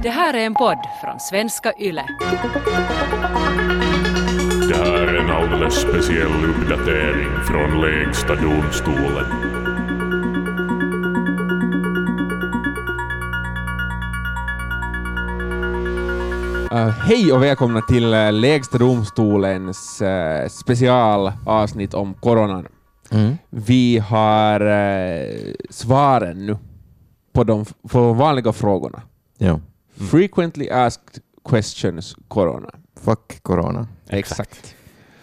Det här är en podd från Svenska Yle. Det här är en alldeles speciell uppdatering från Lägsta domstolen. Hej och välkomna till Lägsta domstolens specialavsnitt om coronan. Vi har svaren nu på de vanliga frågorna. Ja. Frequently asked questions corona. Fuck corona. Exakt.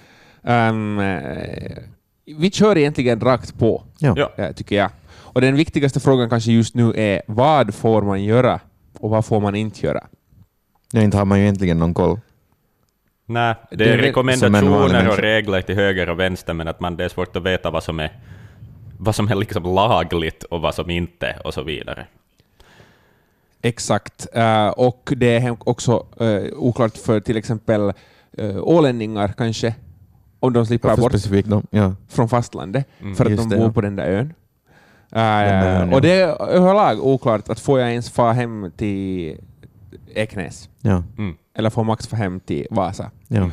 Vi kör egentligen rakt på, tycker jag. Och den viktigaste frågan kanske just nu är: vad får man göra och vad får man inte göra? Ja, inte har man ju egentligen någon koll. Nej, det är rekommendationer och regler till höger och vänster, men att det är svårt att veta vad som är liksom lagligt och vad som inte och så vidare. Exakt. Och det är också oklart för till exempel ålänningar kanske, om de slipper bort från fastlandet för att de bor på den där ön. Och det är överlag oklart att får jag ens få hem till Eknäs. Ja. Eller får Max få hem till Vasa. Ja.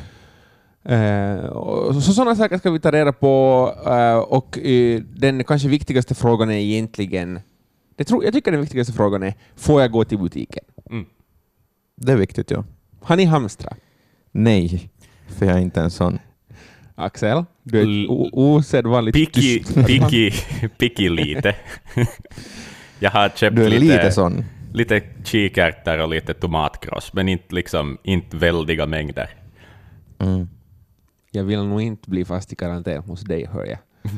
Så sådana saker ska vi ta reda på. Och den kanske viktigaste frågan är egentligen, jag tycker den viktigaste frågan är: får jag gå till butiken? Det är viktigt, ja. Har ni hamstrat? Nej, för jag är inte en sån. Axel, du är osedvanligt picky lite. Jag har köpt du är lite sån. Lite kikärtor och lite tomatkross, men inte väldiga mängder. Jag vill nog inte bli fast i karantän hos dig, hör jag.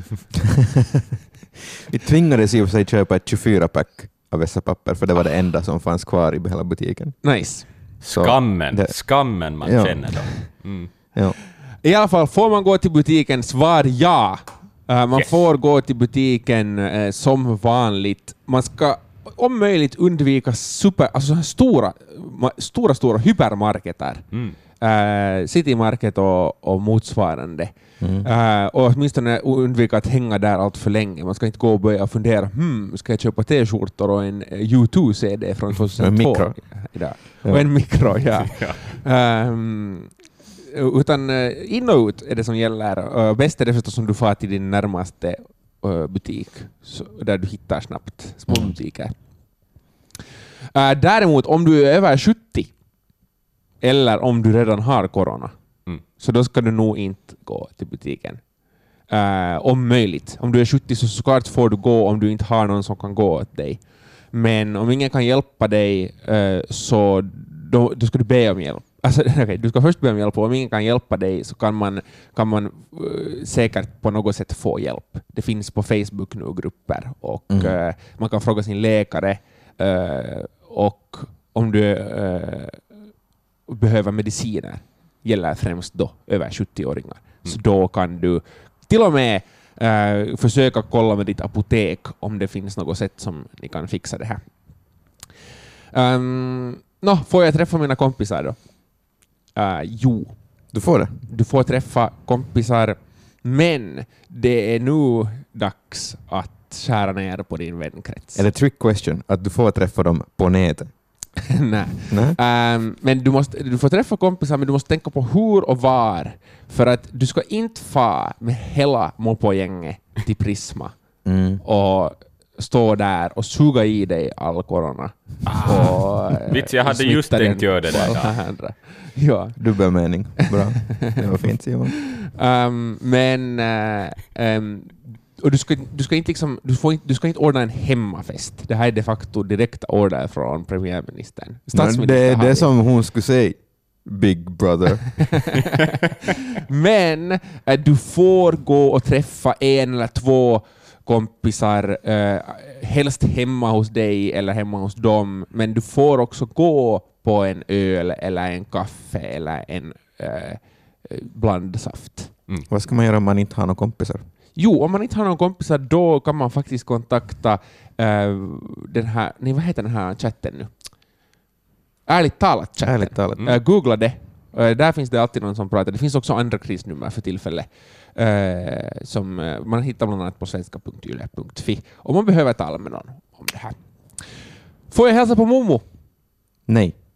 Vi tvingades i och för sig köpa ett 24-pack av dessa papper, för det var det enda som fanns kvar i hela butiken. Nice. Skammen man känner då. Ja. I alla fall, får man gå till butiken? Svar ja. Man får gå till butiken som vanligt. Man ska om möjligt undvika stora hypermarketer. Citymarket och motsvarande. Och åtminstone undvika att hänga där allt för länge. Man ska inte gå och börja fundera, ska jag köpa t-skjortor och en U2-CD från 2002? En mikro. Och en mikro, ja. Utan in och ut är det som gäller. Bäst är det förstås om du får till din närmaste butik där du hittar snabbt små butiker. Däremot om du är över 70 eller om du redan har corona, så då ska du nog inte gå till butiken. Om möjligt. Om du är 70 så såklart får du gå om du inte har någon som kan gå åt dig. Men om ingen kan hjälpa dig så då ska du be om hjälp. Alltså, du ska först be om hjälp, och om ingen kan hjälpa dig så kan man säkert på något sätt få hjälp. Det finns på Facebook nu grupper och man kan fråga sin läkare, och om du behöver mediciner, gäller främst då över 70-åringar. Så då kan du till och med försöka kolla med ditt apotek om det finns något sätt som ni kan fixa det här. Får jag träffa mina kompisar då? Jo. Du får det. Du får träffa kompisar, men det är nu dags att skära ner på din vänkrets. Är det trick question att du får träffa dem på nätet? Nej. Men du får träffa kompisar, men du måste tänka på hur och var. För att du ska inte få med hela Mopo-gänget till Prisma och stå där och suga i dig all corona. Vits, jag hade just tänkt göra det där. Ja. Dubbelmening. Bra. Det var fint, Simon. Och du ska inte ordna en hemmafest. Det här är de facto direkta order från premiärministern. Det är det som hon skulle säga. Big brother. Men du får gå och träffa en eller två kompisar, helst hemma hos dig eller hemma hos dem, men du får också gå på en öl eller en kaffe eller en blandsaft. Vad ska man göra om man inte har några kompisar? Jo, om man inte har någon kompisar, då kan man faktiskt kontakta den här, vad heter den här chatten nu? Ärligt talat chatten. Googla det. Där finns det alltid någon som pratar. Det finns också andra krisnummer för tillfället. Som man hittar bland annat på svenska.yle.fi om man behöver tala med någon om det här. Får jag hälsa på Momo? Nej.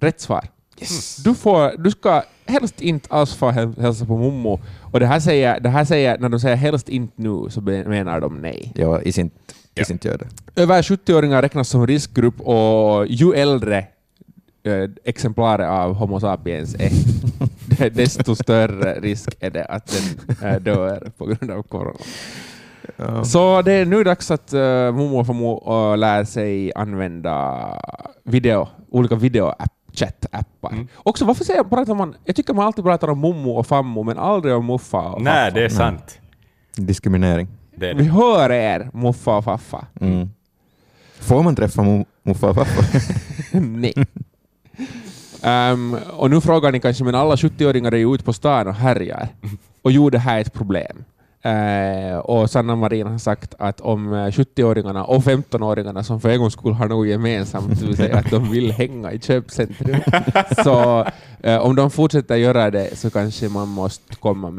Rätt svar. Yes. Du ska helst inte alls få hälsa på mommo. Och det här säger när de säger helst inte nu så menar de nej. Ja, is inte gör det. Över 70-åringar räknas som riskgrupp och ju äldre exemplarer av Homo sapiens är desto större risk är det att den dör på grund av corona. Ja. Så det är nu dags att mommo och fammo lär sig använda olika video-chat-appar. Också, varför pratar man... Jag tycker man alltid pratar om mommo och fammo, men aldrig om muffa och faffa. Nej, det är sant. Diskriminering. Det är Vi det. hör er, muffa och faffa. Får man träffa muffa och faffa? Nej. Och nu frågar ni kanske, men alla 70-åringar är ju ute på stan och härjar. Och jo, det här är ett problem. Och Sanna Marin har sagt att om 70-åringarna och 15-åringarna som för en gång skulle ha något gemensamt, det vill säga att de vill hänga i köpcentrum. Så om de fortsätter göra det så kanske man måste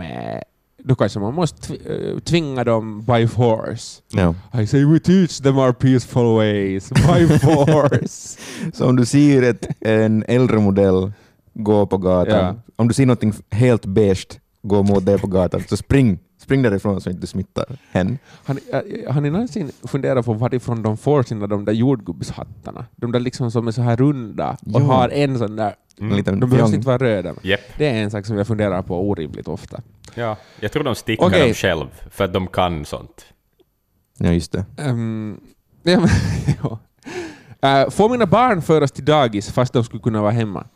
tvinga dem by force. Ja. I say we teach them our peaceful ways by force. Så om du ser en äldre modell gå på gatan, om du ser någonting helt beige gå mot det på gatan, så spring därifrån så inte du smittar hen. Har ni någonsin funderat på varifrån de får sina de där jordgubbshattarna? De där liksom som är så här runda och har en sån där... De behöver inte vara röda. Yep. Det är en sak som jag funderar på orimligt ofta. Ja, jag tror de stickar dem själv för att de kan sånt. Ja, just det. Får mina barn föras till dagis fast de skulle kunna vara hemma?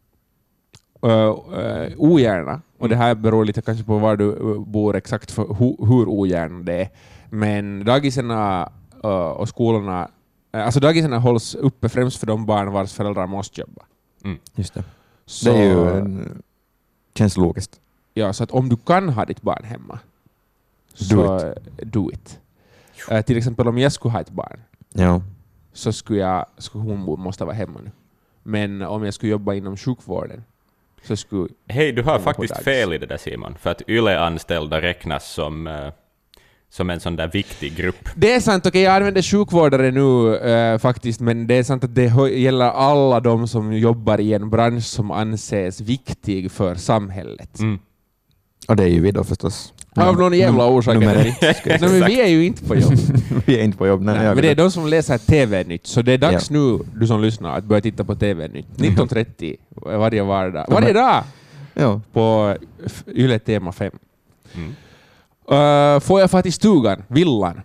Ogärna. Och det här beror lite kanske på var du bor exakt för hur ogärna det är. Men dagiserna och skolorna... Alltså dagiserna hålls uppe främst för de barn vars föräldrar måste jobba. Just det. Så, det är ju känns logiskt. Ja, så att om du kan ha ditt barn hemma så do it. Till exempel om jag skulle ha ett barn så skulle hon måste vara hemma nu. Men om jag skulle jobba inom sjukvården så skulle... Hej, du har faktiskt fel i det där, Simon. För att YLE-anställda räknas som en sån där viktig grupp. Det är sant, okej, jag använder sjukvårdare nu faktiskt, men det är sant att det gäller alla de som jobbar i en bransch som anses viktig för samhället. Och det är ju vi då förstås. Av någon jävla orsak. Nej, men vi är ju inte på jobb. Vi är inte på jobb. Nej, men det är de som läser TV-nytt, så det är dags nu, du som lyssnar, att börja titta på TV-nytt. 19.30 varje vardag. Varje dag! Ja. På Yle Tema 5. Får jag få till stugan? Villan?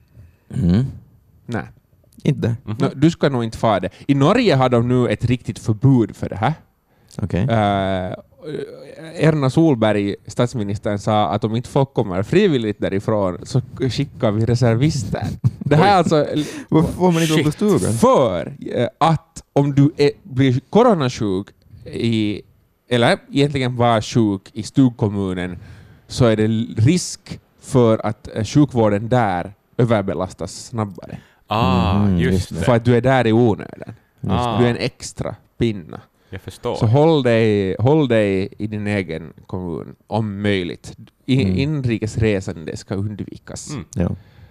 Nej. Inte? No, du ska nog inte få det. I Norge har de nu ett riktigt förbud för det här. Okej. Erna Solberg, statsministern, sa att om inte folk kommer frivilligt därifrån så skickar vi reservister. Det här är alltså... Varför får man inte på stugan? För att om du blir coronasjuk eller egentligen var sjuk i stugkommunen så är det risk för att sjukvården där överbelastas snabbare. Just det. För att du är där i onödan. Du är en extra pinna. Jag förstår. Så håll dig i din egen kommun om möjligt. Inrikesresande ska undvikas. Ja.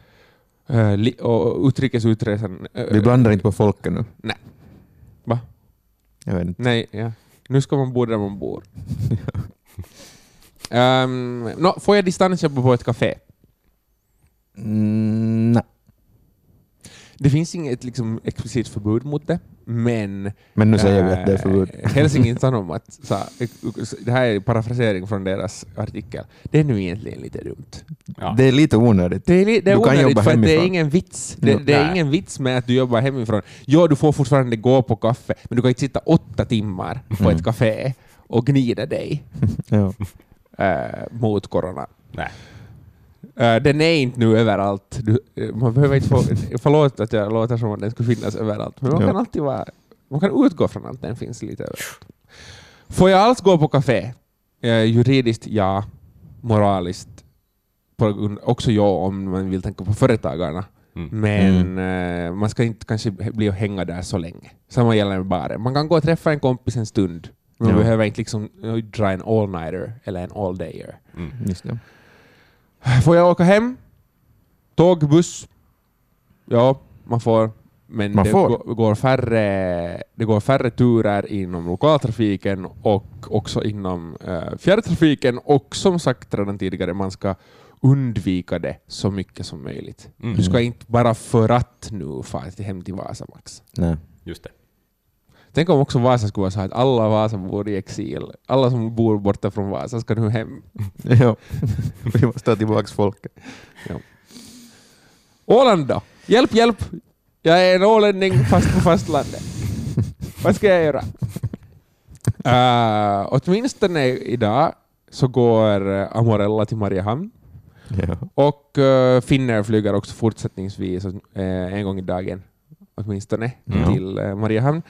Och utrikesutresan... Vi blandar inte på folket nu. Nej. Va? Jag vet inte. Nej, ja. Nu ska man bo där man bor. Får jag distansjobba på ett café? Nej. Det finns inget liksom explicit förbud mot det, men nu säger vi att det är förbud. Helsingin Sanomat, det här är parafrasering från deras artikel, det är nu egentligen lite dumt. Ja. Det är lite onödigt. Det är onödigt för att det är ingen vits. Det är Nej. ingen vits med att du jobbar hemifrån. Ja, du får fortfarande gå på kaffe, men du kan inte sitta 8 timmar på ett café och gnida dig mot corona. Nej. Den är inte nu överallt. Man behöver inte förlåt att jag låter som att den skulle finnas överallt. Men man kan alltid man kan utgå från att den finns lite överallt. Får jag alls gå på café? Juridiskt ja. Moraliskt också ja, om man vill tänka på företagarna. Men man ska inte kanske bli och hänga där så länge. Samma gäller med baren. Man kan gå och träffa en kompis en stund. Man behöver inte liksom dra en all-nighter eller en all-dayer. Just det. Får jag åka hem? Tåg, buss? Ja, man får. Men det går färre turer inom lokaltrafiken och också inom fjärrtrafiken, och som sagt redan tidigare, man ska undvika det så mycket som möjligt. Du ska inte bara för att nu fara hem till Vasa, Max. Nej. Just det. Tänk om också Vasa skulle vara så att alla Vasa bor i exil. Alla som bor borta från Vasa ska nu hem. Ja, vi måste ta tillbaka folket. Ja. Åland då? Hjälp! Jag är en ålänning fast på fastlandet. Vad ska jag göra? Åtminstone idag så går Amorella till Mariehamn. Ja. Och Finnair flyger också fortsättningsvis en gång i dagen åtminstone till Mariehamn.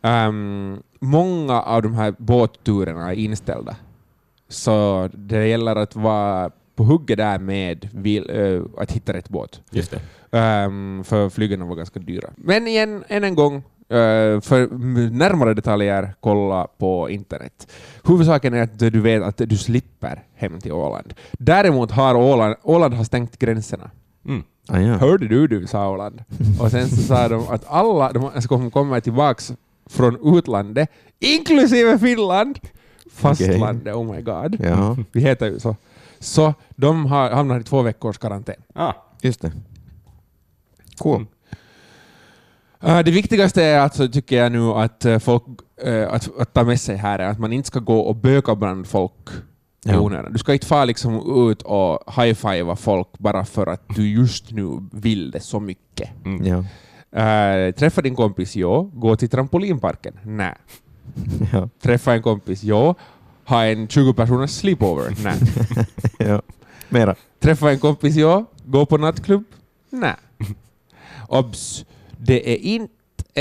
Många av de här båtturerna är inställda. Så det gäller att vara på hugget där med att hitta rätt båt. Just det. För flygerna var ganska dyra. Men igen, än en gång, för närmare detaljer, kolla på internet. Huvudsaken är att du vet att du slipper hem till Åland. Däremot har Åland har stängt gränserna. Ah, ja. Hörde du, sa Åland. Och sen så sa de att alla de ska komma tillbaks från utlandet, inklusive Finland, fastlandet, oh my god. Ja. Vi heter ju så. Så de har hamnat i 2 veckors karantän. Just det. Cool. Det viktigaste är alltså, tycker jag nu, att folk att ta med sig här är att man inte ska gå och böka bland folk. Du ska inte få liksom ut och high-fivea folk bara för att du just nu vill det så mycket. Ja. Träffa din kompis, gå till trampolinparken. Nej. Ja. Träffa en kompis, ha en 20-personers sleepover. Nej. Ja. Mera. Träffa en kompis, gå på nattklubb. Nej. Obs. Det är inte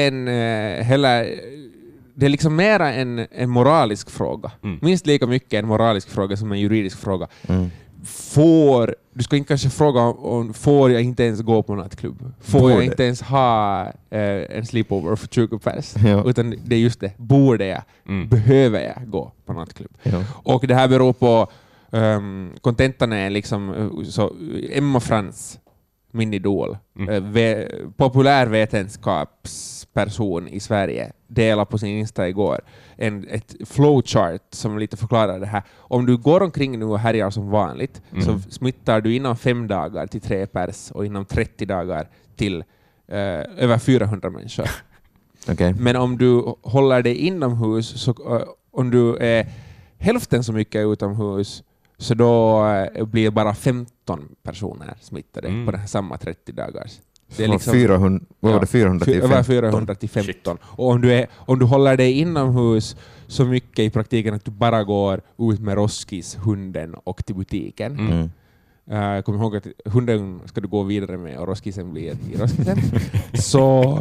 det är liksom mera en moralisk fråga. Minst lika mycket en moralisk fråga som en juridisk fråga. Du ska inte kanske fråga om får jag inte ens gå på nattklubb? Får jag inte ens ha en sleepover för 20 pers? Ja. Utan det är just det. Borde jag? Behöver jag gå på nattklubb? Ja. Och det här beror på kontentan är liksom så Emma Frans, min idol, populärvetenskapsperson i Sverige, delade på sin Insta igår ett flowchart som lite förklarar det här. Om du går omkring nu och härjar som vanligt så smittar du inom 5 dagar till 3 pers och inom 30 dagar till över 400 människor. Okay. Men om du håller dig inomhus, så om du är hälften så mycket utomhus, så då blir bara 15 personer smittade på den här samma 30 dagars. Det är liksom 400, vad var det, 400 till 15? Över 400 till 15. Och om du håller dig inomhus så mycket i praktiken att du bara går ut med Roskis, hunden och till butiken. Kom ihåg att hunden ska du gå vidare med och Roskisen blir i Roskisen. Så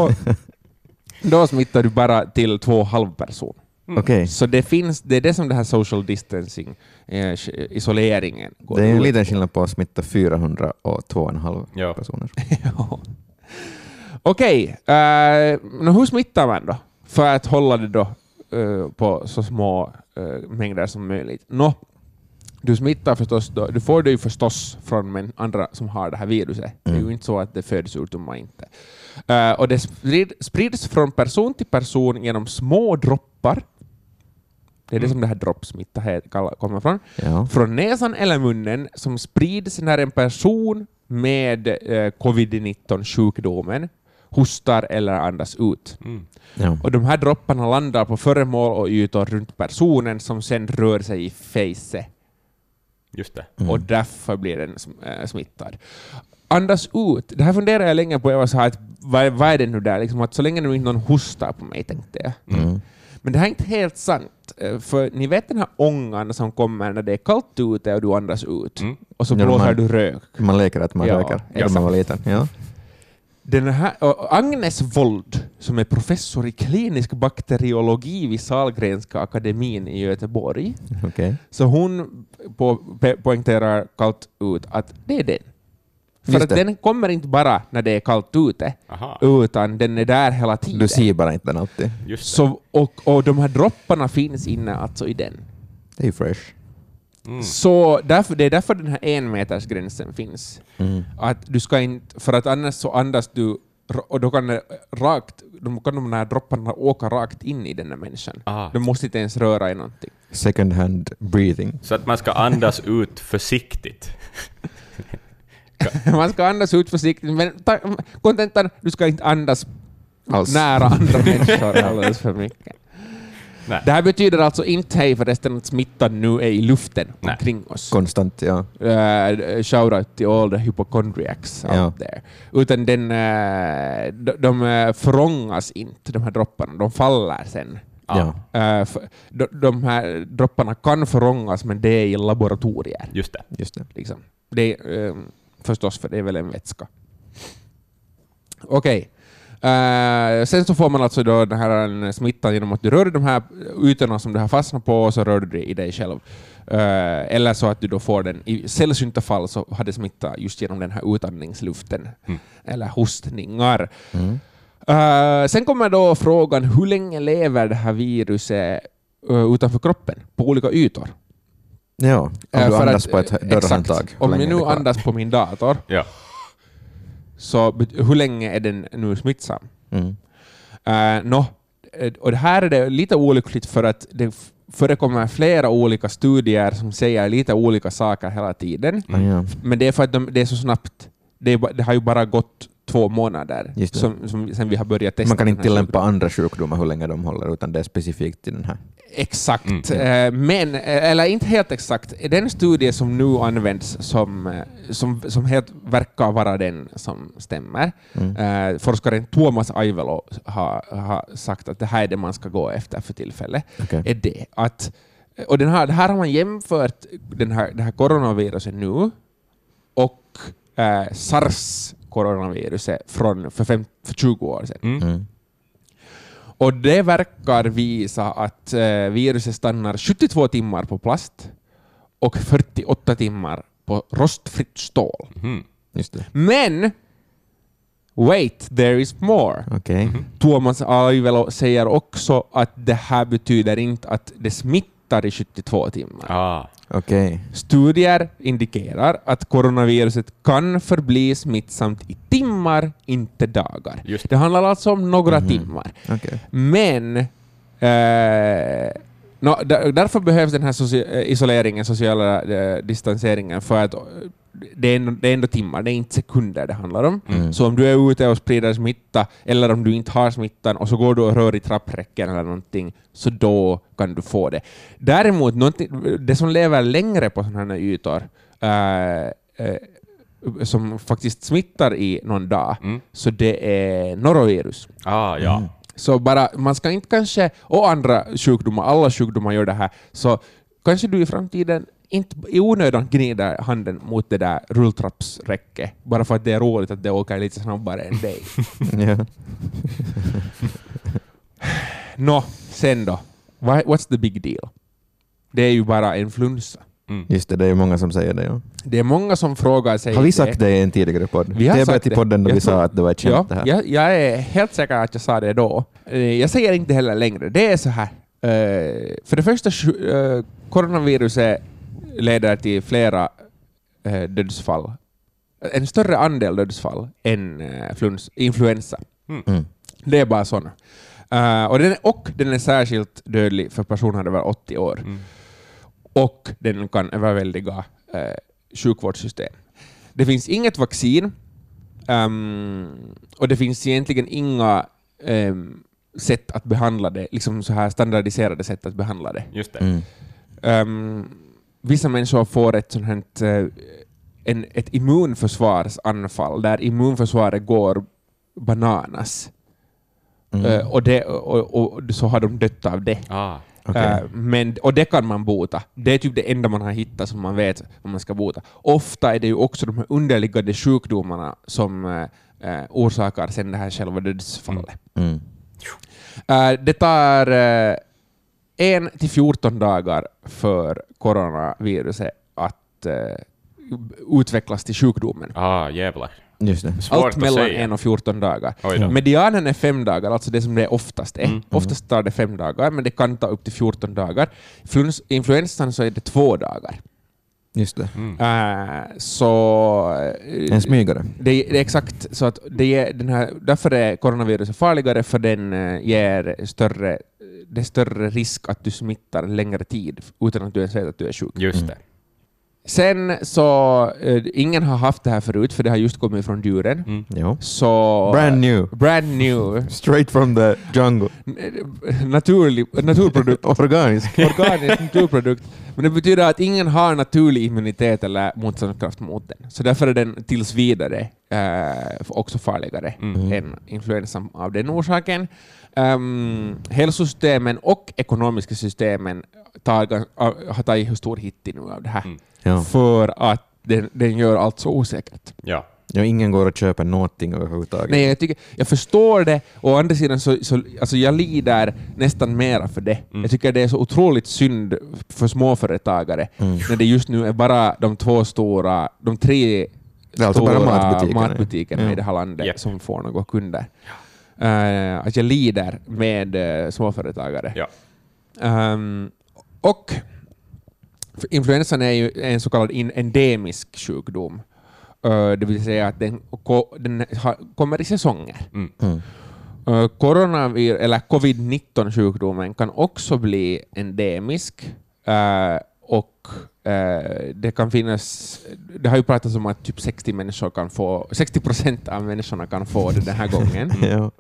då smittar du bara till 2,5 person. Okay. Så det är det som det här social distancing, isoleringen går. Det är en liten skillnad på att smitta 400 och 2,5 personer. Ja. Okej, hur smittar man då? För att hålla det då på så små mängder som möjligt. Du smittar förstås då, du får det ju förstås från andra som har det här viruset. Det är ju inte så att det föds ut om man inte. Och det sprids från person till person genom små droppar. Det är det som det här droppsmitta kommer från. Ja. Från näsan eller munnen, som sprids när en person med covid-19-sjukdomen hostar eller andas ut. Ja. Och de här dropparna landar på föremål och ytor runt personen som sen rör sig i facet. Just det. Och därför blir den smittad. Andas ut. Det här funderar jag länge på. Jag var så här att, vad är det nu där? Liksom att så länge nu inte någon hostar på mig, tänkte jag. Men det här är inte helt sant. För ni vet den här ångan som kommer när det är kallt ute och du andas ut. Och så blåser du rök. Man leker att man röker. När man var liten. Ja. Den här, Agnes Wold, som är professor i klinisk bakteriologi vid Sahlgrenska akademin i Göteborg. Okay. Så hon poängterar kallt ut att det är den. För att den kommer inte bara när det är kallt ute, utan den är där hela tiden. Du ser bara inte den alltid. Så, och de här dropparna finns inne alltså i den. Det är ju fresh. Så det är därför den här 1 meters gränsen finns. Att du ska inte, för att annars så andas du och då kan de här dropparna åka rakt in i den här människan. De måste inte ens röra i någonting. Second hand breathing. Så att man ska andas ut försiktigt. Man ska andas ut försiktigt, men kontentan, du ska inte andas Alls. nära andra människor alldeles för mycket. Nej. Det här betyder alltså inte hej förresten att smittan nu är i luften omkring oss. Konstant, ja. Shout out till all the hypochondriacs out there. Utan de förångas inte, de här dropparna. De faller sen. Ja. De här dropparna kan förångas, men det är i laboratorier. Just det. Liksom. Det är, förstås, för det är väl en vätska. Okej. Sen så får man alltså då den här smittan genom att du rör de här ytorna som du har fastnat på, och så rör du det i dig själv. Eller så att du då får den, i sällsynta fall så har det smittat just genom den här utandningsluften. Eller hostningar. Sen kommer då frågan, hur länge lever det här viruset utanför kroppen på olika ytor? Ja, om du andas på ett dörrhandtag. Om jag nu andas på min dator, så hur länge är den nu smittsam? Och det här är det lite olyckligt för att det förekommer flera olika studier som säger lite olika saker hela tiden. Men det är för att det är så snabbt. Det har ju bara gått 2 månader sen vi har börjat testa. Man kan inte tillämpa andra sjukdomar hur länge de håller, utan det är specifikt till den här. Exakt. Men, eller inte helt exakt. Den studie som nu används som helt verkar vara den som stämmer. Forskaren Tuomas Aivelo har sagt att det här är det man ska gå efter för tillfället. Är det att, och det här har man jämfört det här coronaviruset nu och SARS-coronaviruset för 20 år sedan. Och det verkar visa att viruset stannar 72 timmar på plast och 48 timmar på rostfritt stål. Just det. Men wait, there is more. Tuomas Aivelo säger också att det här betyder inte att det smittar i 72 timmar. Studier indikerar att coronaviruset kan förbli smittsamt i timmar, inte dagar. Det handlar alltså om några timmar. Men därför behövs den här isoleringen, sociala distanseringen, för att det är ändå timmar, det är inte sekunder det handlar om. Så om du är ute och sprider smitta, eller om du inte har smittan och så går du och rör i trappräcken eller någonting, så då kan du få det. Däremot, det som lever längre på sådana här ytor som faktiskt smittar i någon dag, så det är norovirus. Så bara, man ska inte kanske, och andra sjukdomar, alla sjukdomar gör det här, så kanske du i framtiden inte i onödan gnider handen mot det där rulltrappsräcket bara för att det är roligt att det åker lite snabbare än dig. Sen då. What's the big deal? Det är ju bara influensa. Just det är många som säger det. Ja. Det är många som frågar sig. Har vi sagt det i en tidigare podd? Vi har sagt det i podden då vi sa att det var ett känt det här. Jag är helt säker att jag sa det då. Jag säger inte heller längre. Det är så här. För det första, coronaviruset leder till flera dödsfall. En större andel dödsfall än influensa. Det är bara sådana. Och den är särskilt dödlig för personer över 80 år. Och den kan överväldiga sjukvårdssystem. Det finns inget vaccin och det finns egentligen inga sätt att behandla det, liksom så här standardiserade sätt att behandla det. Just det. Vissa människor får ett immunförsvarsanfall där immunförsvaret går bananas. Och så har de dött av det. Och det kan man bota. Det är typ det enda man har hittat som man vet vad man ska bota. Ofta är det ju också de här underliggande sjukdomarna som orsakar sen det här själva dödsfallet. Det tar 1 till 14 dagar för coronaviruset att utvecklas till sjukdomen. Jävlar. Just det. Allt mellan 1 och 14 dagar. Medianen är 5 dagar, alltså det som det oftast är. Oftast tar det 5 dagar, men det kan ta upp till 14 dagar. Influensan så är det 2 dagar. Just det. Så En smygare. det är exakt så att därför är coronaviruset farligare, för den ger större risk att du smittar längre tid utan att du ens vet att du är sjuk. Just det. Sen så ingen har haft det här förut, för det har just kommit från djuren. Jo. Så Brand new. Straight from the jungle. Naturprodukt. Organisk naturprodukt. Men det betyder att ingen har naturlig immunitet eller motståndskraft mot den. Så därför är den tills vidare också farligare än influensan av den orsaken. Hälsosystemen och ekonomiska systemen har tagit stor hit nu av det här. Ja. För att den gör allt så osäkert. Ja. Ja, ingen går att köpa någonting överhuvudtaget. Nej, jag förstår det. Och å andra sidan så alltså jag lider nästan mera för det. Jag tycker det är så otroligt synd för småföretagare när det just nu är bara de tre stora matbutikerna i det här landet som får några kunder. Att jag lider med småföretagare. Ja. Och influensan är ju en så kallad endemisk sjukdom. Det vill säga att den kommer i säsonger. Eller covid-19-sjukdomen kan också bli endemisk. Och det kan finnas... Det har ju pratats om att typ 60% av människorna kan få det den här gången. Ja.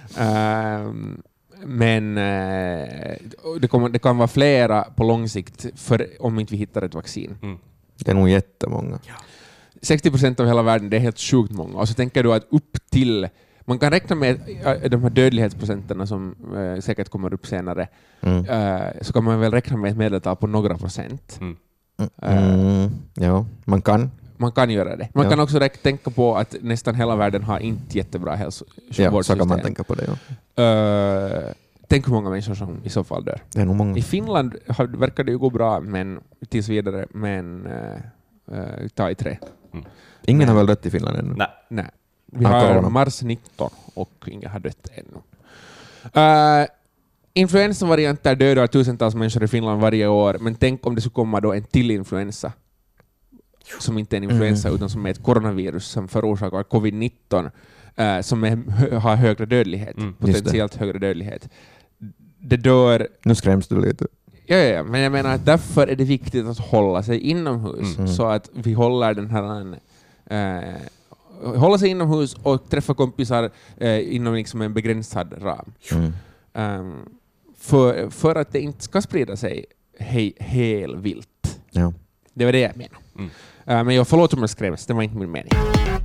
Men det kan vara flera på lång sikt om inte vi hittar ett vaccin. Det är nog jättemånga. 60% av hela världen, det är helt sjukt många. Och så tänker du att upp till... Man kan räkna med de här dödlighetsprocenterna som säkert kommer upp senare. Så kan man väl räkna med ett medeltal på några procent. Ja, man kan. Man kan göra det. Man kan också tänka på att nästan hela världen har inte jättebra hälsovårdssystem. Ja, så kan man tänka på det. Ja. Tänk hur många människor som i så fall dör. Det är nog många. I Finland verkar det ju gå bra, men tills vidare. Men ta i trä. Ingen har väl dött i Finland ännu? Nej. Vi har mars 19 och ingen har dött ännu. Influensavarianter dödar tusentals människor i Finland varje år, men tänk om det skulle komma då en till influensa som inte är en influensa utan som är ett coronavirus som förorsakar covid-19 som har högre dödlighet, potentiellt högre dödlighet. Det dör... Nu skräms du lite. Ja, men jag menar att därför är det viktigt att hålla sig inomhus så att vi håller den här hålla sig inomhus och träffa kompisar inom liksom en begränsad ram. För att det inte ska sprida sig helt vilt. Ja. Det var det jag menade. Men jag förlåter om jag skräms, det var inte min mening.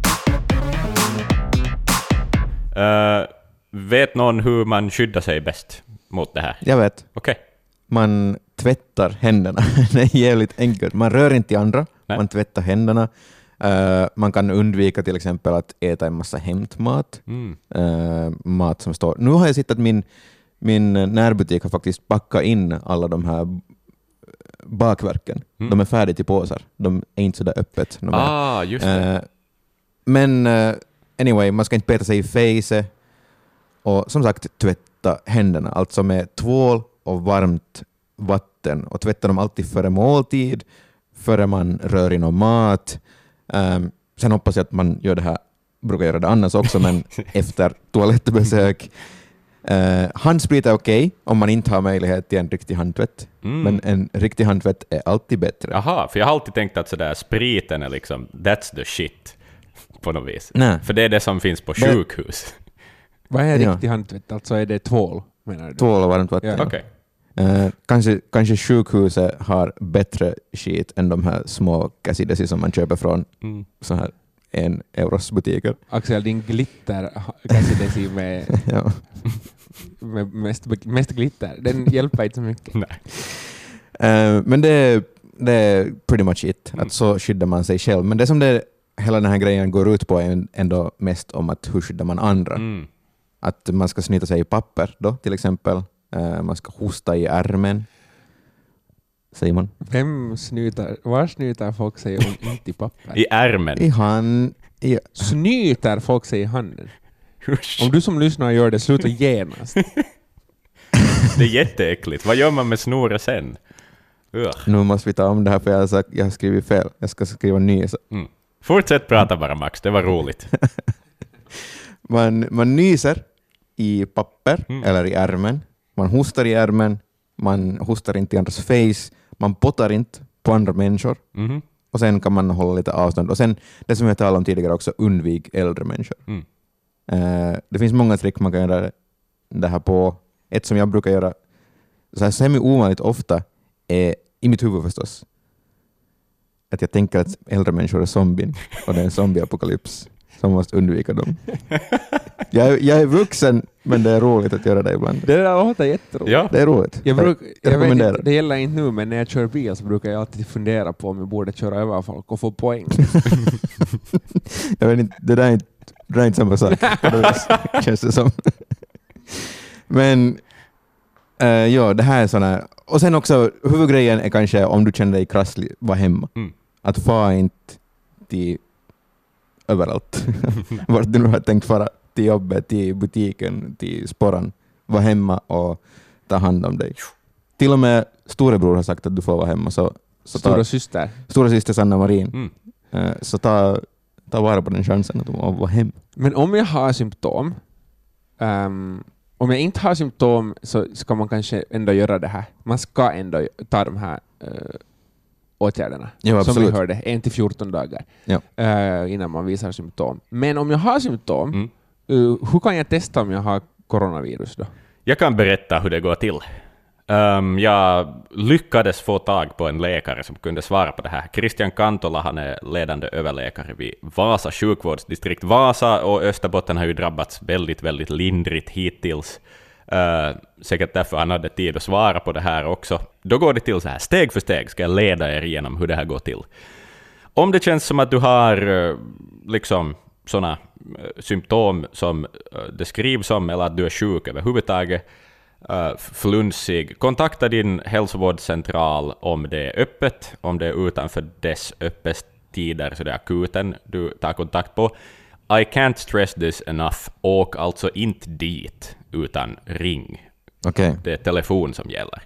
Vet någon hur man skyddar sig bäst mot det här? Jag vet. Okej. Man tvättar händerna. Det är jävligt enkelt. Man rör inte i andra. Nej. Man tvättar händerna. Man kan undvika till exempel att äta en massa hämtmat. Mat som står... Nu har jag sett att min närbutik har faktiskt packat in alla de här bakverken. De är färdiga till påsar. De är inte så där öppet. Just det. Men anyway, man ska inte peta sig i fejset. Och som sagt, tvätta händerna. Alltså med tvål och varmt vatten. Och tvätta dem alltid före måltid. Före man rör i någon mat. Sen hoppas jag att man gör det här, brukar göra det annars också, men efter toalettbesök. Handsprit är okej om man inte har möjlighet till en riktig handtvätt. Men en riktig handtvätt är alltid bättre. Jaha, för jag har alltid tänkt att sådär, spriten är liksom, that's the shit på något vis. Nej. För det är det som finns på sjukhus. Vad är riktig handtvätt? Alltså är det tvål, menar du? Tvål och varmt vatten. Ja. Okay. Kanske sjukhuset har bättre skit än de här små Cassidesi som man köper från så här 1 euros butiker. Axel, din glitter Cassidesi med, ja. med mest glitter, den hjälper inte så mycket. Nej. Men det är pretty much it. Att så skyddar man sig själv. Men det som hela den här grejen går ut på är ändå mest om att hur skyddar man andra. Att man ska snyta sig i papper då, till exempel. Man ska hosta i ärmen. Säger man. Var snyter folk sig om inte i papper? I ärmen. I hand. Snyter folk sig i handen? Om du som lyssnar gör det, sluta genast. Det är jätteäckligt. Vad gör man med snoret sen? Nu måste vi ta om det här för jag har skrivit fel. Jag ska skriva ny. Fortsätt prata bara, Max. Det var roligt. Man nyser i papper eller i ärmen. Man hostar i ärmen. Man hostar inte i andras face. Man pottar inte på andra människor. Och sen kan man hålla lite avstånd. Och sen, det som jag talade om tidigare också, undvik äldre människor. Det finns många trick man kan göra det här på. Ett som jag brukar göra så här semi-ovanligt ofta är, i mitt huvud förstås, att jag tänker att äldre människor är zombien och det är en zombieapokalyps som måste undvika dem. Jag är vuxen, men det är roligt att göra det ibland. Det där låter jätteroligt. Ja. Det är roligt. Jag rekommenderar. vet, det gäller inte nu, men när jag kör bil så brukar jag alltid fundera på om jag borde köra över folk och få poäng. Jag vet inte, det där är inte samma sak. Känns det som. Men ja, det här är såna. Och sen också, huvudgrejen är kanske om du känner dig krasslig, var hemma. Att få inte till överallt. Vart du nu har tänkt fara, till jobbet, till butiken, till sporran. Var hemma och ta hand om dig. Till och med storebror har sagt att du får vara hemma. Så Stora syster Sanna Marin. Så ta vara på den chansen att vara hemma. Men om jag har symptom, om jag inte har symptom så ska man kanske ändå göra det här. Man ska ändå ta de här åtgärderna. Ja, som vi hörde, 1-14 dagar innan man visar symptom. Men om jag har symptom, hur kan jag testa om jag har coronavirus då? Jag kan berätta hur det går till. Jag lyckades få tag på en läkare som kunde svara på det här. Christian Kantola, han är ledande överläkare vid Vasa sjukvårdsdistrikt. Vasa och Österbotten har ju drabbats väldigt, väldigt lindrigt hittills. Säkert därför han hade tid att svara på det här också. Då går det till så här, steg för steg ska jag leda er igenom hur det här går till. Om det känns som att du har liksom sådana symptom som det skrivs om, eller att du är sjuk överhuvudtaget, flunsig, kontakta din hälsovårdscentral om det är öppet, om det är utanför dess öppettider, så det är akuten du tar kontakt på. I can't stress this enough. Åk alltså inte dit, utan ring. Okay. Det är telefon som gäller.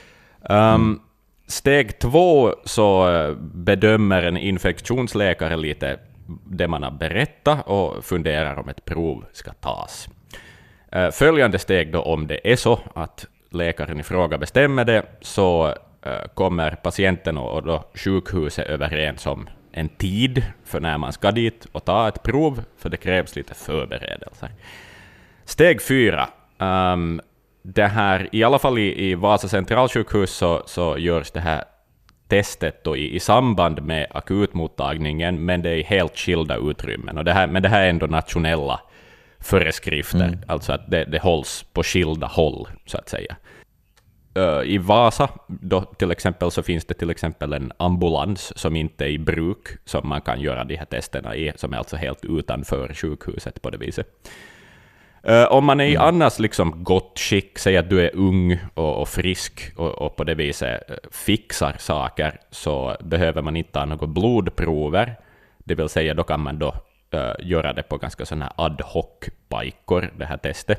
Steg 2 så bedömer en infektionsläkare lite det man har berättat och funderar om ett prov ska tas. Följande steg då, om det är så att läkaren i fråga bestämmer det, så kommer patienten och då sjukhuset överens om en tid för när man ska dit och ta ett prov, för det krävs lite förberedelser. Steg 4. Det här, i alla fall i Vasa centralsjukhus så görs det här testet då i samband med akutmottagningen, men det är i helt skilda utrymmen. Men det här är ändå nationella föreskrifter, alltså att det hålls på skilda håll, så att säga. I Vasa då, till exempel, så finns det till exempel en ambulans som inte är i bruk, som man kan göra de här testerna i, som är alltså helt utanför sjukhuset på det viset. Om man är i annars liksom gott skick, säg att du är ung och frisk och på det viset fixar saker, så behöver man inte ha några blodprover. Det vill säga, då kan man då göra det på ganska sådana ad hoc-pajkor, det här testet.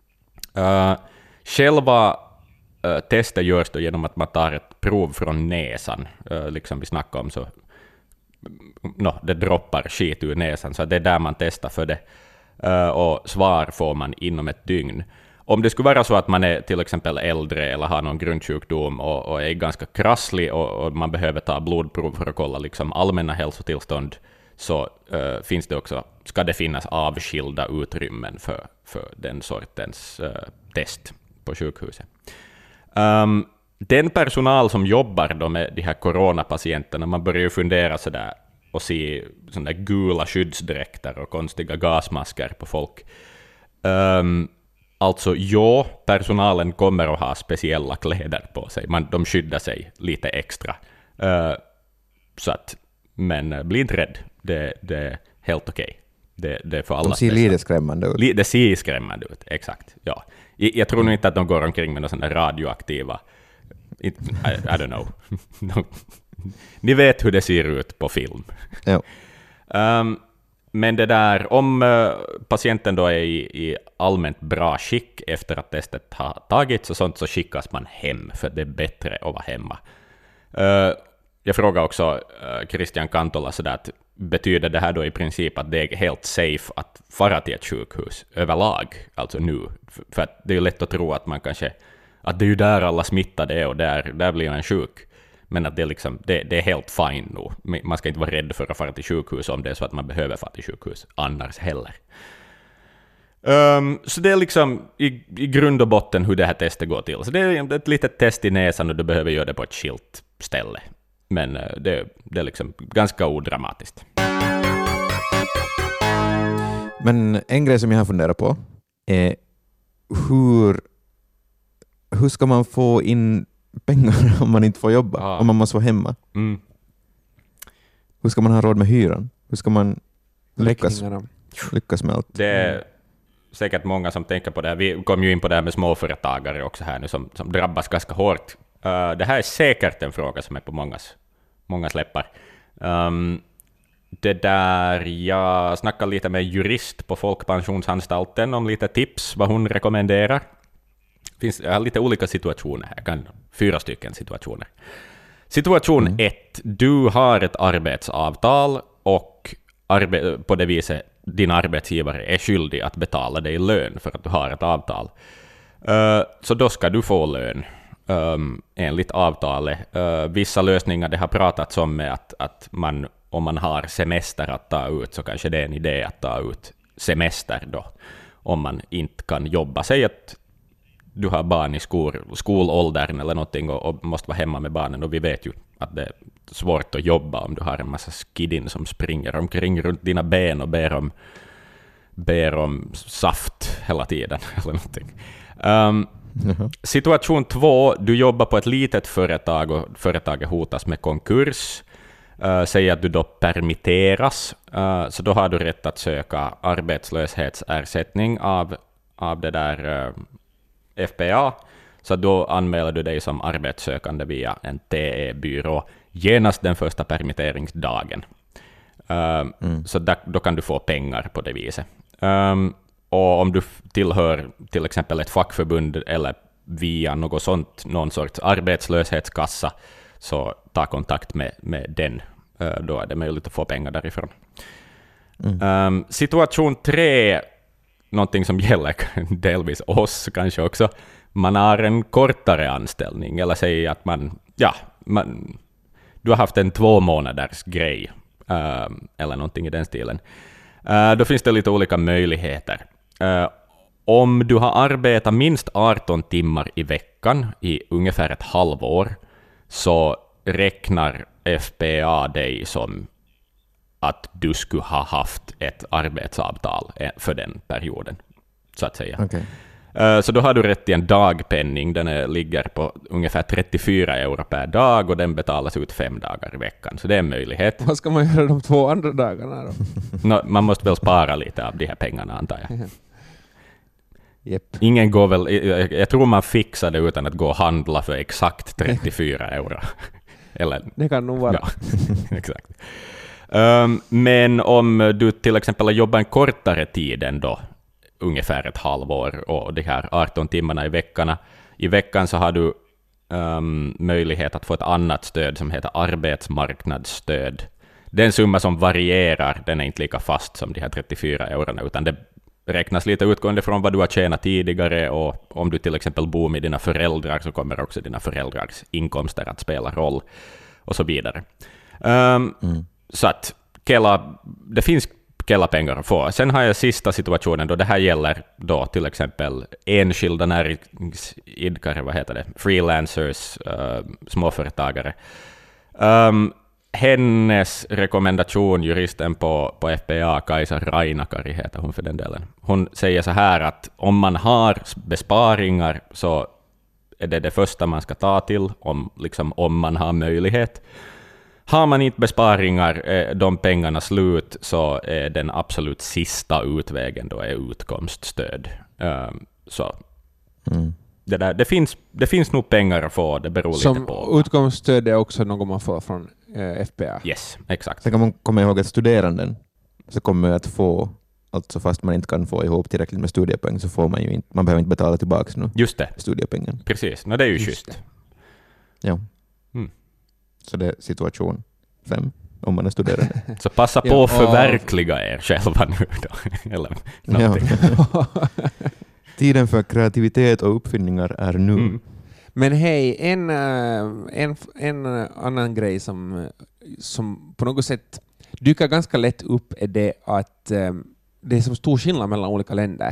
Själva testet görs då genom att man tar ett prov från näsan. Liksom vi snackade om, så det droppar skit ur näsan, så det är där man testar för det. Och svar får man inom ett dygn. Om det skulle vara så att man är till exempel äldre eller har någon grundsjukdom och är ganska krasslig och man behöver ta blodprov för att kolla liksom allmänna hälsotillstånd, så finns det också, ska det finnas avskilda utrymmen för den sortens test på sjukhuset. Den personal som jobbar då med de här coronapatienterna, man börjar ju fundera sådär och se sådana gula skyddsdräkter och konstiga gasmasker på folk. Alltså personalen kommer att ha speciella kläder på sig. De skyddar sig lite extra. Så att, men bli inte rädd. Det är helt okej. Det är för alla. De ser lite skrämmande ut. Det ser skrämmande ut, exakt. Ja. Jag tror nog inte att de går omkring med några sådana radioaktiva... I don't know. Ni vet hur det ser ut på film. Ja. Men det där, om patienten då är i allmänt bra skick efter att testet har tagits och sånt, så skickas man hem, för det är bättre att vara hemma. Jag frågar också Christian Kantola sådär att betyder det här då i princip att det är helt safe att fara till ett sjukhus överlag, alltså nu? För att det är ju lätt att tro att man kanske, att det är ju där alla smittade är och där blir man sjuk. Men att det är, liksom, det är helt fine nu. Man ska inte vara rädd för att fara till sjukhus om det är så att man behöver fara till sjukhus annars heller. Så det är liksom i grund och botten hur det här testet går till. Så det är ett litet test i näsan och du behöver göra det på ett skilt ställe. Men det är liksom ganska odramatiskt. Men en grej som jag har funderat på är hur ska man få in pengar om man inte får jobba, om man måste vara hemma? Hur ska man ha råd med hyran? Hur ska man lyckas med allt? Det är säkert många som tänker på det här. Vi kom ju in på det här med småföretagare också här nu som drabbas ganska hårt. Det här är säkert en fråga som är på mångas läppar. Det där, jag snackade lite med jurist på Folkpensionsanstalten om lite tips vad hon rekommenderar. Jag har lite olika situationer här, 4 stycken situationer. Situation 1. Du har ett arbetsavtal och på det viset din arbetsgivare är skyldig att betala dig lön för att du har ett avtal. Så då ska du få lön enligt avtalet. Vissa lösningar det har pratats om med att man, om man har semester att ta ut så kanske det är en idé att ta ut semester då om man inte kan jobba. Säg att du har barn i skolåldern eller någonting och måste vara hemma med barnen, och vi vet ju att det är svårt att jobba om du har en massa skidin som springer omkring runt dina ben och ber om saft hela tiden eller någonting. Situation 2, du jobbar på ett litet företag och företaget hotas med konkurs. Säg att du då permitteras, så då har du rätt att söka arbetslöshetsersättning av det där FPA, så då anmäler du dig som arbetssökande via en TE-byrå genast den första permitteringsdagen. Så då kan du få pengar på det viset. Och om du tillhör till exempel ett fackförbund eller via någon sorts arbetslöshetskassa, så ta kontakt med den. Då är det möjligt att få pengar därifrån. Situation 3, någonting som gäller delvis oss kanske också. Man har en kortare anställning, eller säger att du har haft en 2 månaders grej eller någonting i den stilen. Då finns det lite olika möjligheter. Om du har arbetat minst 18 timmar i veckan i ungefär ett halvår, så räknar FPA dig som att du skulle ha haft ett arbetsavtal för den perioden, så att säga. Okay. Så då har du rätt till en dagpenning. Den ligger på ungefär 34 euro per dag och den betalas ut 5 dagar i veckan. Så det är en möjlighet. Vad ska man göra de 2 andra dagarna då? Man måste väl spara lite av de här pengarna, antar jag. Yep. Ingen går väl, jag tror man fixar det utan att gå och handla för exakt 34 euro. Eller, det kan nog vara. Ja, exakt. Men om du till exempel har jobbat en kortare tid än då, ungefär ett halvår, och de här 18 timmarna i veckan så har du möjlighet att få ett annat stöd som heter arbetsmarknadsstöd. Det är en summa som varierar, den är inte lika fast som de här 34 eurona, utan det räknas lite utgående från vad du har tjänat tidigare, och om du till exempel bor med dina föräldrar så kommer också dina föräldrars inkomster att spela roll och så vidare. Så att det finns Kela-pengar att få. Sen har jag sista situationen då det här gäller då till exempel enskilda näringsidkare, freelancers, småföretagare. Hennes rekommendation, juristen på FPA, Kaisa Rainakari heter hon för den delen. Hon säger så här att om man har besparingar så är det första man ska ta till om man har möjlighet. Har man inte besparingar, de pengarna slut, så är den absolut sista utvägen då är utkomststöd. Så det finns nog pengar att få, det beror lite på. Som utkomststöd är också något man får från FPA. Yes, exakt. Sen kan man komma ihåg att studeranden så kommer att få, alltså fast man inte kan få ihop tillräckligt med studiepoäng, så får man ju inte, man behöver inte betala tillbaka nu. Just det. Studiepengen. Precis, det är ju schysst. Ja. Så det är situation 5 om man är studerande. Så passa på att förverkliga er själva nu då. Eller någonting. Tiden för kreativitet och uppfinningar är nu. Men hej, en annan grej som på något sätt dyker ganska lätt upp är det att det är så stor skillnad mellan olika länder.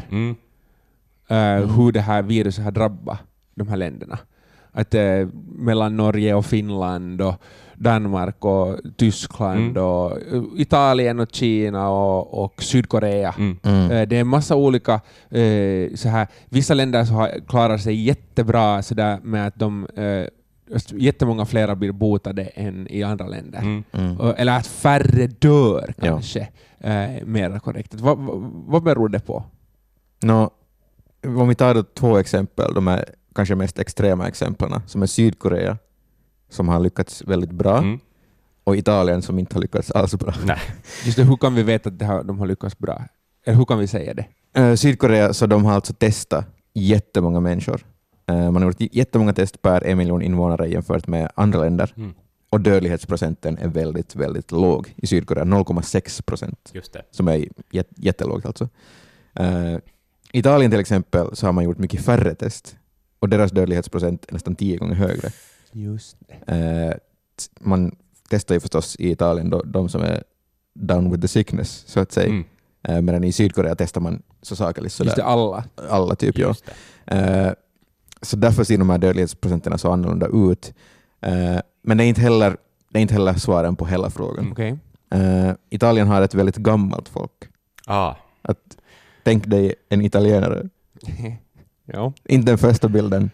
Hur det här viruset har drabbat de här länderna. Att mellan Norge och Finland och Danmark och Tyskland och Italien och Kina och Sydkorea. Det är en massa olika så här, vissa länder så har klarat sig jättebra så där med att de jättemånga fler blir botade än i andra länder. Eller att färre dör kanske. Mer korrekt. Vad beror det på? Om vi tar då 2 exempel, de är kanske mest extrema exemplen, som är Sydkorea som har lyckats väldigt bra och Italien som inte har lyckats alls bra. Nej. Just det, hur kan vi veta att de har lyckats bra? Eller hur kan vi säga det? Sydkorea, så de har alltså testat jättemånga människor. Man har gjort jättemånga test per 1 miljon invånare jämfört med andra länder. Och dödlighetsprocenten är väldigt, väldigt låg i Sydkorea, 0,6%. Just det. Som är jättelågt alltså. Italien till exempel så har man gjort mycket färre test och deras dödlighetsprocent är nästan 10 gånger högre. Just det. Man testar ju förstås i Italien då, de som är down with the sickness så att säga. Medan i Sydkorea testar man så sakerligt sådär. Just det, alla typ, ja. Så därför ser de här dödlighetsprocenterna så annorlunda ut. Men det är inte heller svaren på hela frågan. Okay. Italien har ett väldigt gammalt folk. Tänk dig en italienare. Ja. Inte den första bilden.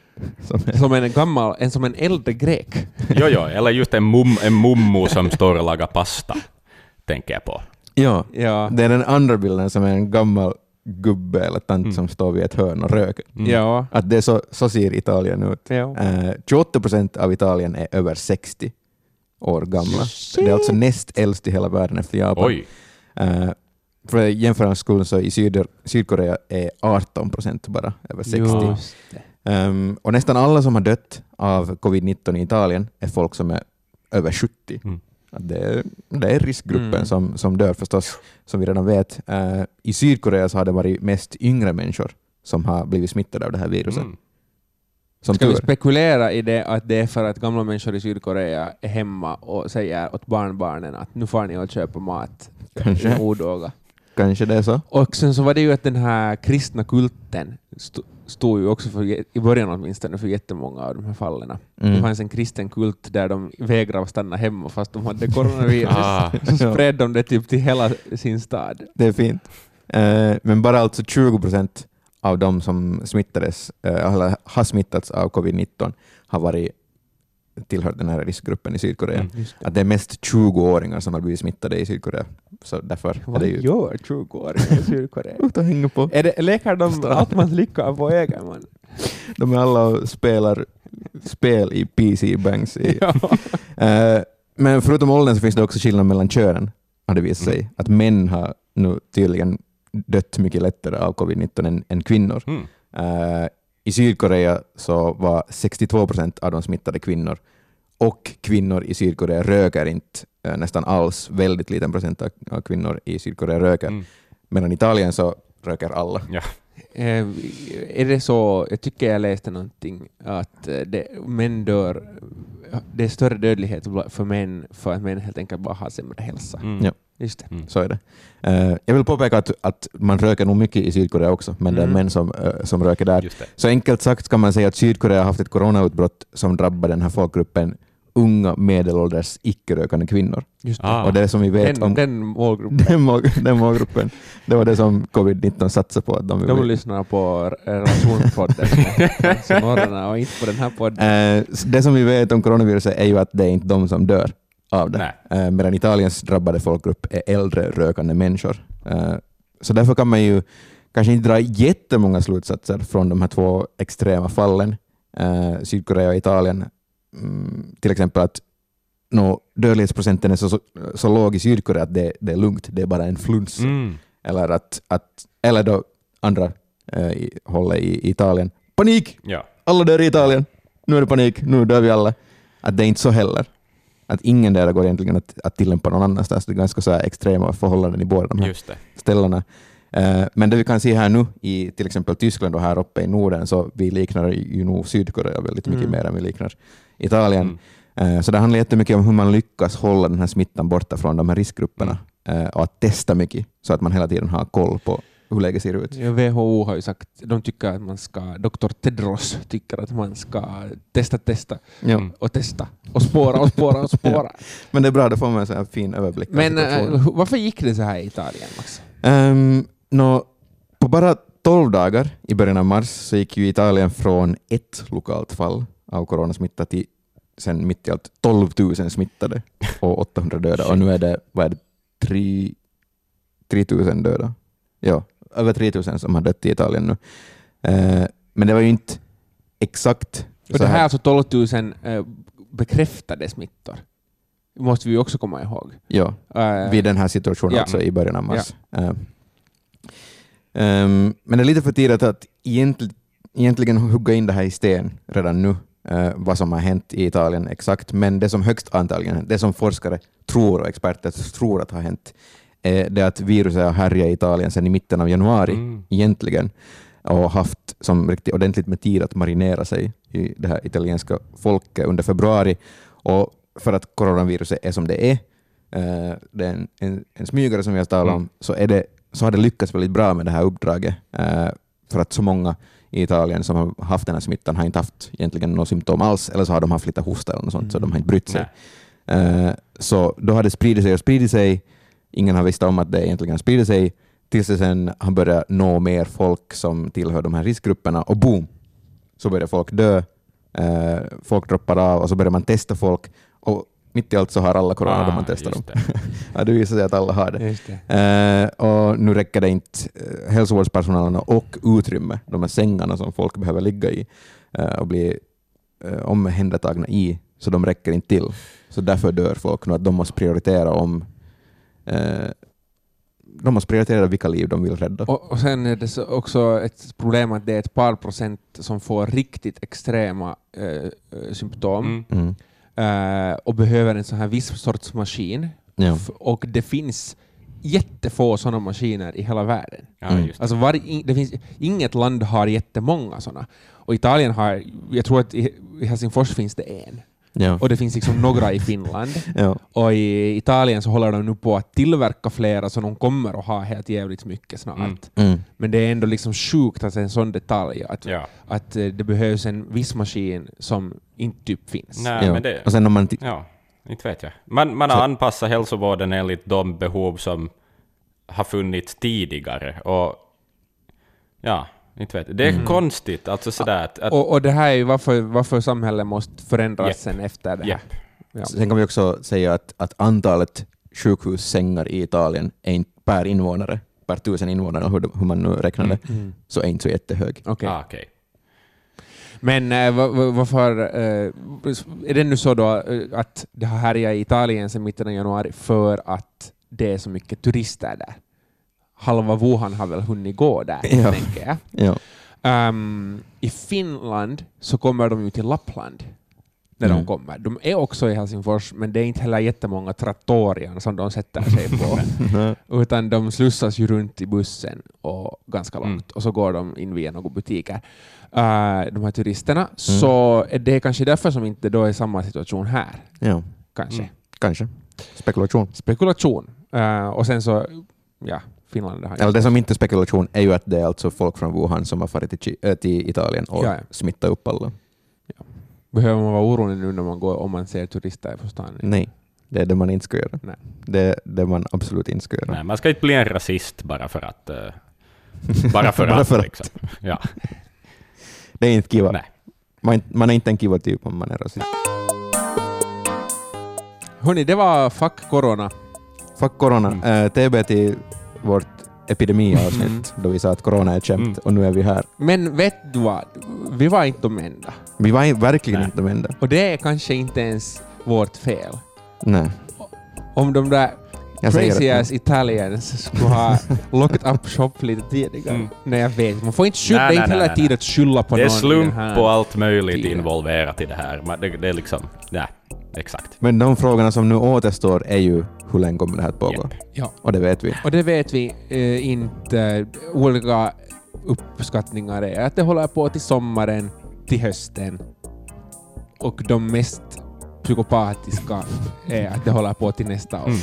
Som en äldre grek. Jo, eller just en mummo som står och lagar pasta, tänker jag på. Ja, det är den andra bilden som är en gammal gubbe eller tant som står vid ett hörn och röker. Ja. Att det så ser Italien ut. Ja. 28% av Italien är över 60 år gamla. Det är alltså näst äldst i hela världen efter Japan. Oj. För jämförande skull så i Sydkorea är 18% bara över 60. Och nästan alla som har dött av covid-19 i Italien är folk som är över 70. Det är riskgruppen som dör förstås, som vi redan vet. I Sydkorea så har det varit mest yngre människor som har blivit smittade av det här viruset. Ska vi spekulera i det att det är för att gamla människor i Sydkorea är hemma och säger åt barnbarnen att nu får ni att köpa mat. Kanske. Odåga. Kanske det är så. Och sen så var det ju att den här kristna kulten stod ju också för, i början åtminstone, för jättemånga av de här fallen. Det fanns en kristen kult där de vägrade stanna hemma fast de hade coronavirus. Så spred de det typ till hela sin stad. Det är fint. Men bara alltså 20% av de som smittades eller har smittats av covid-19 har varit tillhört den här riskgruppen i Sydkorea. Att det är mest 20-åringar som har blivit smittade i Sydkorea. Så därför vad är det ju... gör 20-åringar i Sydkorea? Utan hänga på. Leker de allt man lyckar på egen man? De är alla och spelar spel i PC-banks. Men förutom åldern så finns det också skillnad mellan könen, har det visat sig. Att män har nu tydligen dött mycket lättare av covid-19 än kvinnor. I Sydkorea så var 62% av de smittade kvinnor, och kvinnor i Sydkorea röker inte nästan alls. Väldigt liten procent av kvinnor i Sydkorea röker. Medan i Italien så röker alla. Ja. Är det så, jag tycker jag läste någonting att män dör, det är större dödlighet för män för att män helt enkelt bara har sämre hälsa. Ja. Just det. Så är det. Jag vill påpeka att man röker nog mycket i Sydkorea också, men det är män som röker där. Så enkelt sagt kan man säga att Sydkorea har haft ett coronautbrott som drabbar den här folkgruppen unga medelålders icke-rökande kvinnor. Just det. Och det som vi vet den målgruppen. Den målgruppen. Det var det som covid-19 satsade på. Att de lyssnar på relationspodden och inte på den här podden. Det som vi vet om coronaviruset är ju att det är inte de som dör av det. Medan Italiens drabbade folkgrupp är äldre rökande människor. Så därför kan man ju kanske inte dra jättemånga slutsatser från de här 2 extrema fallen. Sydkorea och Italien. Till exempel att dödlighetsprocenten är så låg i Sydkorea att det är lugnt, det är bara en fluns. Eller då andra hållet i Italien. Panik! Ja. Alla dör i Italien. Nu är det panik, nu dör vi alla. Att det är inte så heller. Att ingen där går egentligen att tillämpa någon annanstans. Det är ganska så här extrema förhållanden i båda de här ställena. Men det vi kan se här nu i till exempel Tyskland och här uppe i Norden, så vi liknar ju nog Sydkorea väldigt mycket mer än vi liknar Italien. Så det handlar jättemycket om hur man lyckas hålla den här smittan borta från de här riskgrupperna och att testa mycket så att man hela tiden har koll på hur läget ser ut. Ja, WHO har ju sagt, de tycker att man ska, Dr. Tedros tycker att man ska testa och testa och spåra. Ja. Men det är bra, det får man en sån här fin överblick. Men varför gick det så här i Italien, Max? På bara 12 dagar i början av mars så gick ju Italien från ett lokalt fall av coronasmitta till sen mitt i allt 12 000 smittade och 800 döda. Och nu är det, 3 000 döda. Ja, över 3 000 som har dött i Italien nu. Men det var ju inte exakt. Och det här är alltså 12 000 bekräftade smittor. Det måste vi också komma ihåg. Ja, vid den här situationen alltså i början av mars. Ja. Men det är lite för tidigt att egentligen hugga in det här i sten redan nu, vad som har hänt i Italien exakt. Men det som högst antagligen, det som forskare tror och experter tror att har hänt, det är att viruset har härjat i Italien sedan i mitten av januari egentligen och haft som riktigt ordentligt med tid att marinera sig i det här italienska folket under februari. Och för att coronaviruset är som det är en smygare som vi har talat om, så har det lyckats väldigt bra med det här uppdraget, för att så många i Italien som har haft den här smittan har inte haft egentligen några symptom alls, eller så har de haft lite hosta eller något sånt, så de har inte brytt sig. Så då har det spridit sig. Ingen har visst om att det egentligen sprider sig tills det sen har börjat nå mer folk som tillhör de här riskgrupperna, och boom, så börjar folk dö, folk droppar av och så börjar man testa folk, och mitt i allt så har alla corona då man testar dem. Ja, det visar sig att alla har det. Och nu räcker det inte hälsovårdspersonalen och utrymme, de här sängarna som folk behöver ligga i och bli omhändertagna i, så de räcker inte till. Så därför dör folk nu, att de måste prioritera vilka liv de vill rädda. Och sen är det också ett problem att det är ett par procent som får riktigt extrema symptom och behöver en sån här viss sorts maskin. Ja. Och det finns jättefå sådana maskiner i hela världen. Alltså det finns, inget land har jättemånga sådana. Och Italien har, jag tror att i Helsingfors finns det en. Ja. Och det finns liksom några i Finland. Och i Italien så håller de nu på att tillverka flera, så de kommer att ha helt jävligt mycket snart. Men det är ändå liksom sjukt att en sån detalj att det behövs en viss maskin som inte typ finns. Nej, men det, och sen om man inte vet jag. Man har anpassat hälsovården enligt de behov som har funnits tidigare, och inte vet. Det är konstigt. Alltså sådär och det här är ju varför samhället måste förändras sen efter det här. Ja. Sen kan vi också säga att antalet sjukhussängar i Italien är inte per invånare, per 1000 invånare, hur man nu räknar det, så är inte så jättehög. Okej. Men varför är det nu så då att det har härjat i Italien sedan mitten av januari för att det är så mycket turister där? Halva Wuhan har väl hunnit gå där, tänker jag. I Finland så kommer de ju till Lappland när de kommer. De är också i Helsingfors, men det är inte heller jättemånga trattorier som de sätter sig på. Utan de slussas ju runt i bussen och ganska långt. Och så går de in via några butiker. De här turisterna. Så är det kanske därför som inte då är samma situation här. Ja. Kanske. Spekulation. Och sen så, Finland. Eller det som inte är spekulation är ju att det är alltså folk från Wuhan som har farit till Italien och smittat upp alla. Ja. Behöver man vara orolig nu när man går, om man ser turister på stan? Nej, det är det man inte ska göra. Nej. Det är det man absolut inte ska göra. Nej, man ska inte bli en rasist bara för att. Bara för att. Liksom. Ja. Det är inte kiva. Nej. Man är inte en kiva typ om man är rasist. Hörrni, det var Fuck Corona. Fuck Corona. TB till vårt epidemiavsnitt då vi sa att corona är kämt och nu är vi här. Men vet du vad? Vi var inte de enda. Vi var verkligen inte de enda. Och det är kanske inte ens vårt fel. Nej. Om de där crazy as Italians skulle ha locked up shop lite tidigare. Nej, jag vet. Man får inte skylla, det är inte hela tiden att skylla på någon. Det är slump här och allt möjligt tiden involverat i det här. Det är liksom, ja, exakt. Men de frågorna som nu återstår är ju hur länge kommer det här att pågå? Yep. Ja. Och det vet vi. Och det vet vi inte. Olika uppskattningar är att det håller på till sommaren, till hösten. Och de mest psykopatiska är att det håller på till nästa år.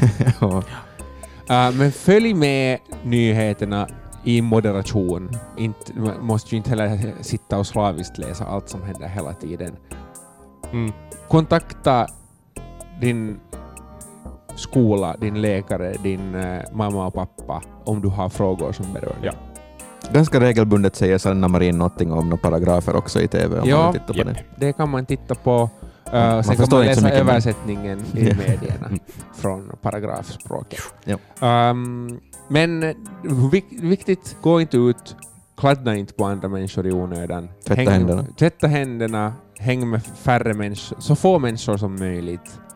Men följ med nyheterna i moderation. Man måste ju inte heller sitta och slaviskt läsa allt som händer hela tiden. Kontakta din skola, din läkare, din mamma och pappa om du har frågor som berör dig. Ganska regelbundet säger Sanna Marin någonting om några paragrafer också i TV om man vill titta på det. Det kan man titta på. Man Sen kan man läsa mycket översättningen i medierna från paragrafspråket. Men viktigt, gå inte ut, kladda inte på andra människor i onödan. Tvätta händerna. Tvätta händerna, häng med färre människor, så få människor som möjligt.